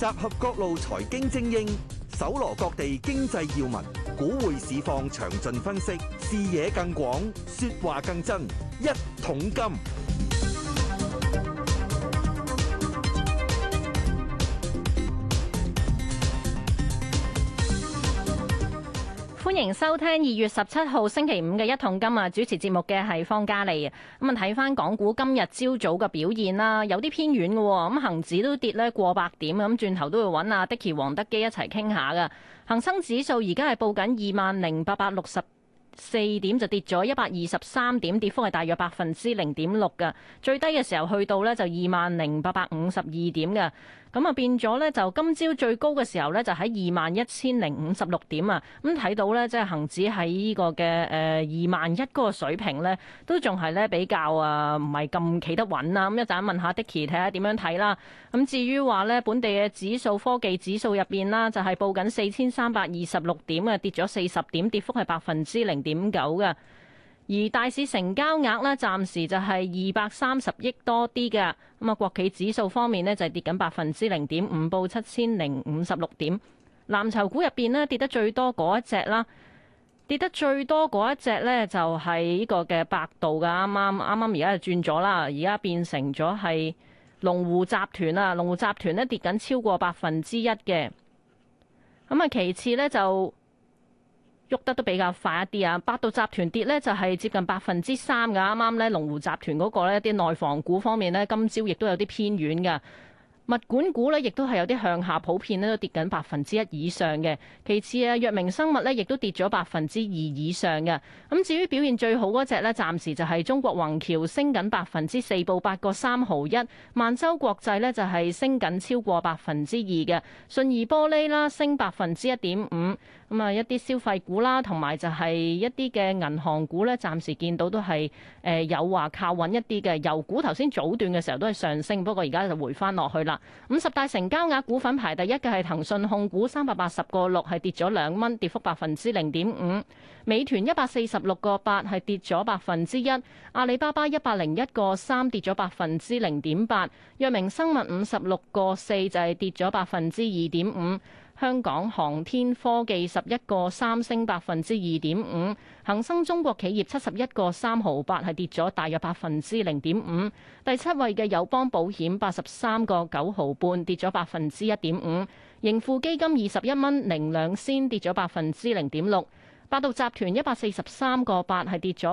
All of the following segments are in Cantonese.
集合各路財經精英，搜羅各地經濟要聞，股匯市況詳盡分析，視野更廣，說話更真。一桶金。 歡迎收聽2月17號星期五嘅一桶金啊！主持節目嘅係方嘉莉。咁啊，睇翻港股今日朝早嘅表現啦，有啲偏軟嘅。咁恒指都跌咧過百點，咁轉頭都會揾阿 Dicky 黃德基一齊傾下噶。恒生指數而家係報緊20,864點，就跌咗123點，跌幅係大約0.6%嘅。最低嘅時候去到呢就20,852點嘅。咁啊變咗呢，就今朝最高嘅時候呢，就喺21,056點啊！咁睇到呢，即係恒指喺呢個嘅21,000嗰個水平呢，都仲係呢比較唔係咁企得穩啦。咁一陣問下 Dicky 睇下點樣睇啦。咁至於話呢，本地嘅指數科技指數入邊啦，就係報緊4,326點啊，跌咗40點，跌幅係0.9%嘅。而大市成交額呢，暫時就係230億多啲嘅。咁啊，國企指數方面呢，就係跌緊0.5%，報7,056點。藍籌股入邊呢，跌得最多嗰一隻啦，跌得最多嗰一隻呢，就係呢個嘅百度噶，啱啱而家就轉咗啦，而家變成咗係龍湖集團啦。龍湖集團呢，跌緊超過1%嘅。咁啊，其次呢，就喐得都比較快一啲啊！百度集團跌呢就係接近3%噶，啱啱呢龍湖集團嗰個呢啲內房股方面呢，今朝亦都有啲偏軟嘅。物管股呢亦都係有啲向下，普遍呢都跌緊1%以上嘅。其次啊，藥明生物呢亦都跌咗2%以上嘅。咁至於表現最好嗰隻呢，暫時就係中國宏橋升緊4%，報8個3毫1。萬洲國際呢就係升緊超過2%嘅。信義玻璃啦升1.5%。咁啊，一啲消費股啦，同埋就係一啲嘅銀行股咧，暫時見到都係有話靠穩一啲嘅。油股頭先早段嘅時候都係上升，不過而家就回翻落去啦。50大成交額股份排第一嘅係騰訊控股380個6，係跌咗2蚊，跌幅0.5%。美團146個8係跌咗1%。阿里巴巴101個3跌咗0.8%。藥明生物56個4就係跌咗2.5%。香港航天科技11個3升2.5%，恒生中國企業71個3毫8係跌咗大約0.5%。第七位嘅友邦保險83個9毫半跌咗1.5%，盈富基金21蚊零2仙跌咗0.6%。百度集團143個8係跌咗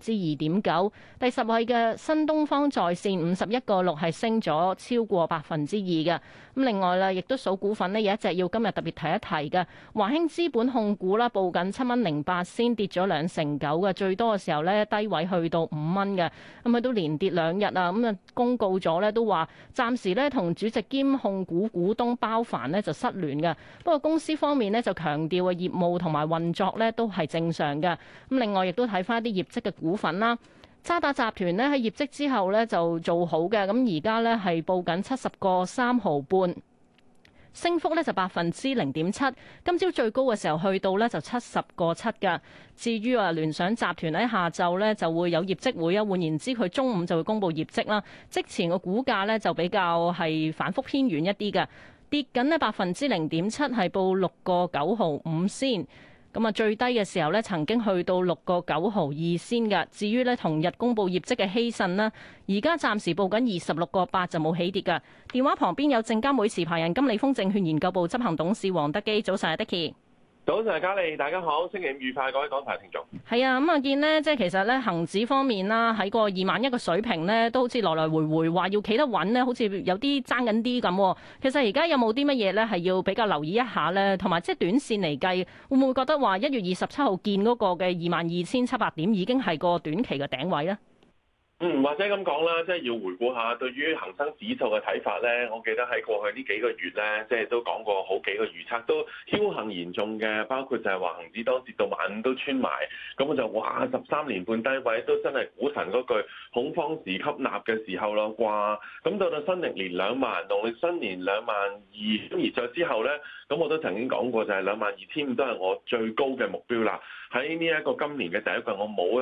2.9%。第十位嘅新東方在線51個6係升咗超過2%嘅。咁另外啦，亦都數股份呢，有一隻要今日特別提一提嘅華興資本控股啦，報緊7蚊08仙，跌咗2成9嘅。最多嘅時候呢，低位去到5蚊嘅。咁佢都連跌2日啊。咁啊公告咗呢，都話暫時呢同主席兼控股股東包凡呢就失聯嘅。不過公司方面呢，就強調嘅業務同埋運作呢都係正常嘅。咁另外亦都睇翻啲業績嘅股份啦。渣打集團呢喺業績之後呢就做好嘅，咁而家呢係報緊70個3毫半，升幅呢就0.7%。今朝最高嘅時候去到呢就70個7㗎。至於聯想集團喺下晝呢就會有業績會啊，換言之佢中午就會公布業績啦。即前個股價呢就比較係反覆偏軟一啲嘅，跌緊呢0.7%，係報6個9毫5仙。咁啊，最低嘅時候咧，曾經去到6個9毫2仙㗎。至於咧，同日公布業績嘅希慎啦，而家暫時報緊26個8，就冇起跌㗎。電話旁邊有證監會持牌人金利豐證券研究部執行董事黃德基，早晨啊，Dicky。 早晨，嘉莉，大家好，星期五愉快，各位港台聽眾。 係啊，咁啊見呢，即係其實咧，恒指方面啦，喺個21,000嘅水平呢，都好似來來回回話要企得穩呢，好似有啲爭緊啲咁。其實而家有冇啲乜嘢咧，係要比較留意一下咧？同埋即係短線嚟計，會唔會覺得話1月27號見嗰個嘅22,700點已經係個短期嘅頂位咧？ 或者咁講啦，即係要回顧下對於恒生指數嘅睇法咧。我記得喺過去呢幾個月咧，即係都講過好幾個預測，都僥倖嚴重嘅，包括就係話恒指當跌到15000都穿埋，咁我就話13年半低位都真係股神嗰句恐慌時吸納嘅時候咯啩。咁到新歷年2萬，農曆新年22000，咁而再之後咧，咁我都曾經講過就係22500都係我最高嘅目標啦。喺呢一個今年嘅第一季，我冇一個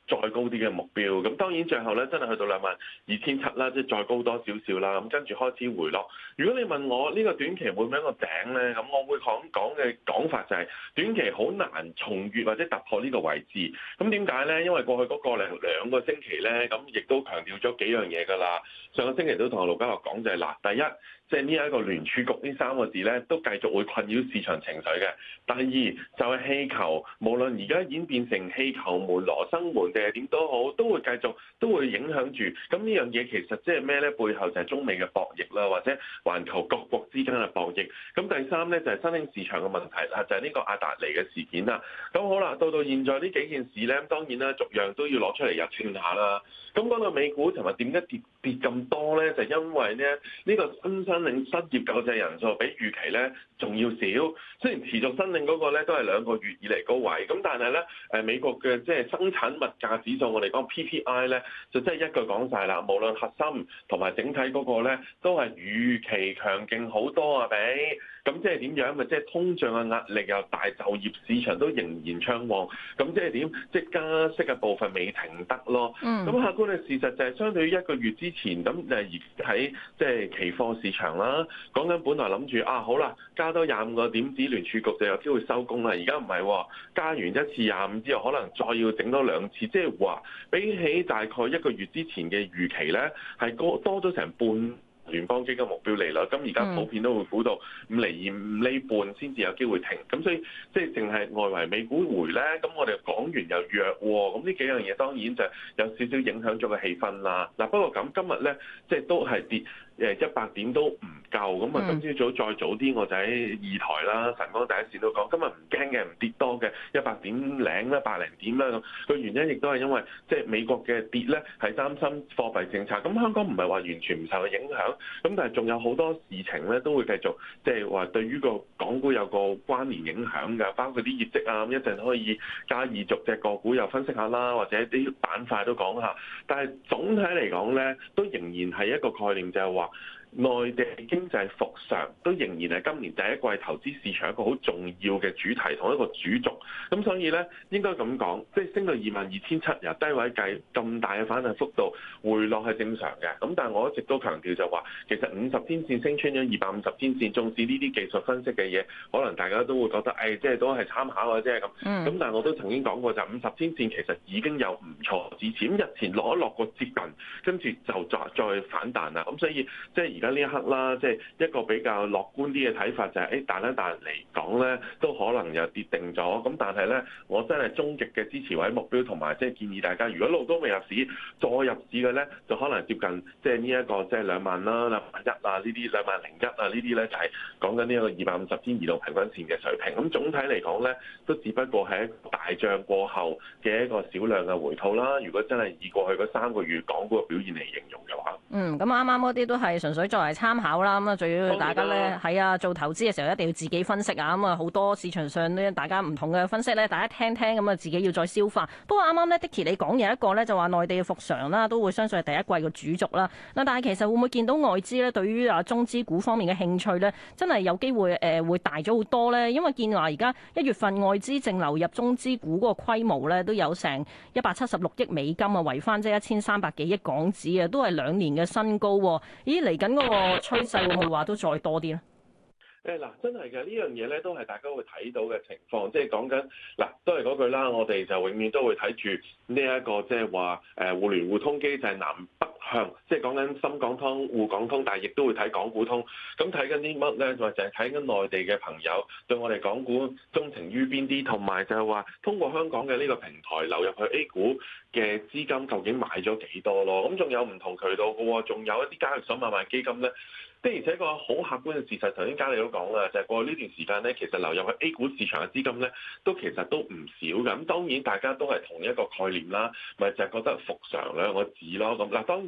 再高啲嘅目標。咁當然最後咧真係去到22,700啦，即係再高多少少啦。咁跟住開始回落。如果你問我呢個短期會唔會一個頂咧？咁我會講嘅講法就係短期好難重越或者突破呢個位置。咁點解咧？因為過去嗰個兩個星期咧，咁亦都強調咗幾樣嘢㗎啦。上個星期都同阿盧家樂講就係嗱，第一，即係呢一個聯儲局呢三個字咧，都繼續會困擾市場情緒嘅。第二就係氣球，無論而家演變成氣球門、羅生門定係點都好，都會繼續都會影響住。咁呢樣嘢其實即係咩咧？背後就係中美嘅博弈啦，或者環球各國之間嘅博弈。咁第三咧就係新興市場嘅問題啦，就係呢個阿達尼嘅事件啦。咁好啦，到現在呢幾件事咧，當然啦，逐樣都要攞出嚟入串下啦。咁講到美股尋日點解跌咁多咧？就因為咧呢個新申領失業救濟人數比預期咧仲要少。雖然持續申領嗰個咧都係2個月以嚟高位，咁但係咧美國嘅即係生產物價指數，我哋講 PPI 咧，就真係一句講晒啦。無論核心同埋整體嗰個咧，都係預期強勁好多啊！咁即係點樣？咪即係通脹嘅壓力又大，就業市場都仍然暢旺。咁即係點？即係加息嘅部分未停得咯。咁客觀嘅事實就係相對於1個月之前，咁而喺即係期貨市場啦，講緊本來諗住好啦，加多25個點子，聯儲局就有機會收工啦。而家唔係喎，加完一次25之後，可能再要整多2次，即係話比起大概1個月之前嘅預期咧，係多咗成半聯邦基金目標利率。咁而家普遍都會估到5.5厘先至有機會停。咁所以即係淨係外圍美股回咧，咁我哋港元又弱喎。咁呢幾樣嘢當然就有少少影響咗個氣氛啦。嗱，不過咁今日咧，即係都係跌100點都唔夠。咁啊，今朝早再早啲，我就喺2台啦、晨光第一線都講，今日唔驚嘅，唔跌多嘅100點零啦、100零點啦。咁個原因亦都係因為即係美國嘅跌咧係擔心貨幣政策。咁香港唔係話完全唔受影響，咁但係仲有好多事情咧都會繼續即係話對於個港股有個關聯影響㗎，包括啲業績啊，咁一陣可以加以逐隻個股又分析下啦，或者啲板塊都講下。但係總體嚟講咧，都仍然係一個概念，就係話內地經濟復常都仍然係今年第一季投資市場一個好重要嘅主題同一個主軸。咁所以咧應該咁講，即係升到22,700由低位計咁大嘅反彈幅度回落係正常嘅。咁但係我一直都強調就話，其實50天線升穿咗250天線，縱使呢啲技術分析嘅嘢，可能大家都會覺得即係都係參考嘅啫咁。咁但係我都曾經講過，就50天線其實已經有唔錯支持，咁日前落一落個接近，跟住就再反彈啦。咁所以即係而家呢一刻啦，即係一個比較樂觀啲嘅睇法就係，彈一彈嚟講咧，都可能又跌定咗。咁但係咧，我真係終極嘅支持位目標同埋即係建議大家，如果路都未入市，再入市嘅咧，就可能接近即係呢一個即係2萬啦、21000啊呢啲、20001啊呢啲咧，就係講緊呢一個250天移動平均線嘅水平。咁總體嚟講咧，都只不過係一個大漲過後嘅一個少量嘅回吐啦。如果真係以過去嗰3個月港股嘅表現嚟形容嘅話， 咁啱啱嗰啲都係純粹作為參考啦。咁啊，最要大家咧係啊做投資嘅時候一定要自己分析啊。咁啊，好多市場上咧大家唔同嘅分析咧，大家聽聽咁啊，自己要再消化。不過啱啱咧，Dicky 你講有一個咧就話內地嘅復常啦，都會相信係第一季嘅主軸啦。嗱，但係其實會唔會見到外資咧對於中資股方面嘅興趣咧，真係有機會會大咗好多咧？因為見話而家1月份外資淨流入中資股嗰個規模咧都有成176億美金啊，圍翻即係1300幾億港紙啊，都係2年嘅新高。咦，嚟緊嗰個趨勢會唔會話都再多啲咧？ 嗱，真係嘅呢樣嘢咧，都係大家會睇到嘅情況，即係講緊嗱，都係嗰句啦，我哋就永遠都會睇住呢一個即係話互聯互通機制南北向，即係講緊深港通、滬港通，但係亦都會睇港股通。咁睇緊啲乜咧？就係睇緊內地嘅朋友對我哋港股鍾情於邊啲，同埋就係話通過香港嘅呢個平台流入去 A 股嘅資金究竟買咗幾多咯？咁仲有唔同渠道嘅喎，仲有一啲交易所買賣基金咧。的而且確好客觀嘅事實，頭先嘉利都講啦，就係過去呢段時間咧，其實流入去 A 股市場嘅資金咧，其實都唔少嘅。咁當然大家都係同一個概念啦，咪就係覺得復常2個字咯。咁嗱，當然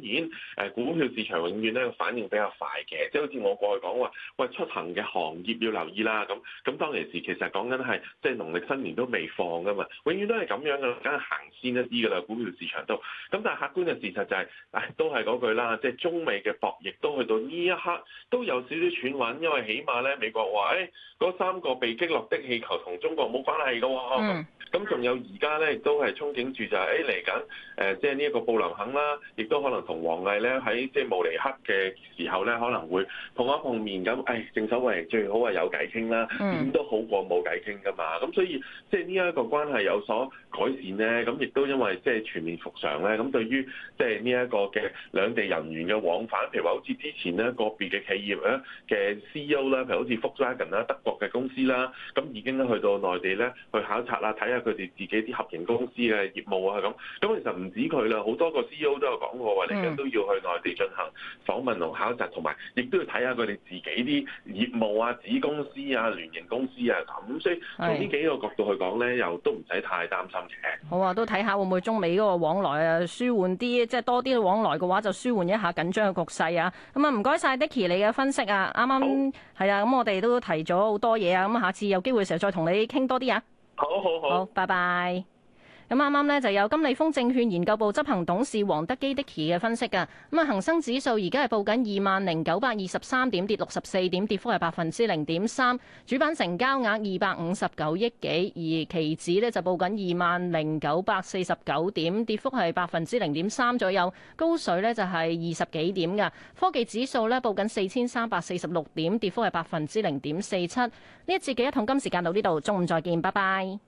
然股票市場永遠咧反應比較快嘅，即係好似我過去講話，喂出行嘅行業要留意啦。咁當其時其實講緊係即係農曆新年都未放噶嘛，永遠都係咁樣噶，梗係行先一啲噶啦，股票市場都。咁但係客觀嘅事實就係，都係嗰句啦，即係中美嘅博弈都去到呢一刻都有少少喘穩，因為起碼咧美國話嗰3個被擊落的氣球同中國冇關係噶喎。咁仲有而家咧亦都係憧憬住就係嚟緊即係呢一個布林肯啦，亦都可能同王毅咧喺即係慕尼黑嘅時候咧可能會碰一碰面咁。正所謂最好係有偈傾啦，點都好過冇偈傾噶嘛。咁所以即係呢一個關係有所改善咧，咁亦都因為即係全面復常咧，咁對於即係呢一個嘅兩地人員嘅往返，譬如話好似之前咧個別嘅企業咧嘅 CEO 啦，譬如好似 Volkswagen 啦，德國嘅公司啦，咁已經咧去到內地咧去考察啦，睇下佢哋自己啲合營公司嘅業務啊咁。咁其實唔止佢啦，好多個 CEO 都有講過話嚟緊都要去內地進行訪問同考察，同埋亦都要睇下佢哋自己啲業務啊、子公司啊、聯營公司啊咁。所以從呢幾個角度去講咧，又都唔使太擔心嘅。 好啊，都睇下會唔會中美嗰個往來啊舒緩啲，即係多啲往來嘅話就舒緩一下緊張嘅局勢啊。咁啊唔該晒 Dicky 你嘅分析啊，啱啱係啊，咁我哋都提咗好多嘢啊，咁下次有機會嘅時候再同你傾多啲啊。好，拜拜。咁啱啱呢就有金利豐證券研究部執行董事黃德基 Dicky 嘅分析㗎。咁啊，恒生指數而家係報緊20,923點，跌64點，跌幅係0.3%。主板成交額259億幾，而期指呢就報緊20,949點，跌幅係0.3%左右。高水呢就係20幾點㗎。科技指數呢報緊4,346點，跌幅係0.47%。呢一節嘅一桶金時間到呢度，中午再見，拜拜。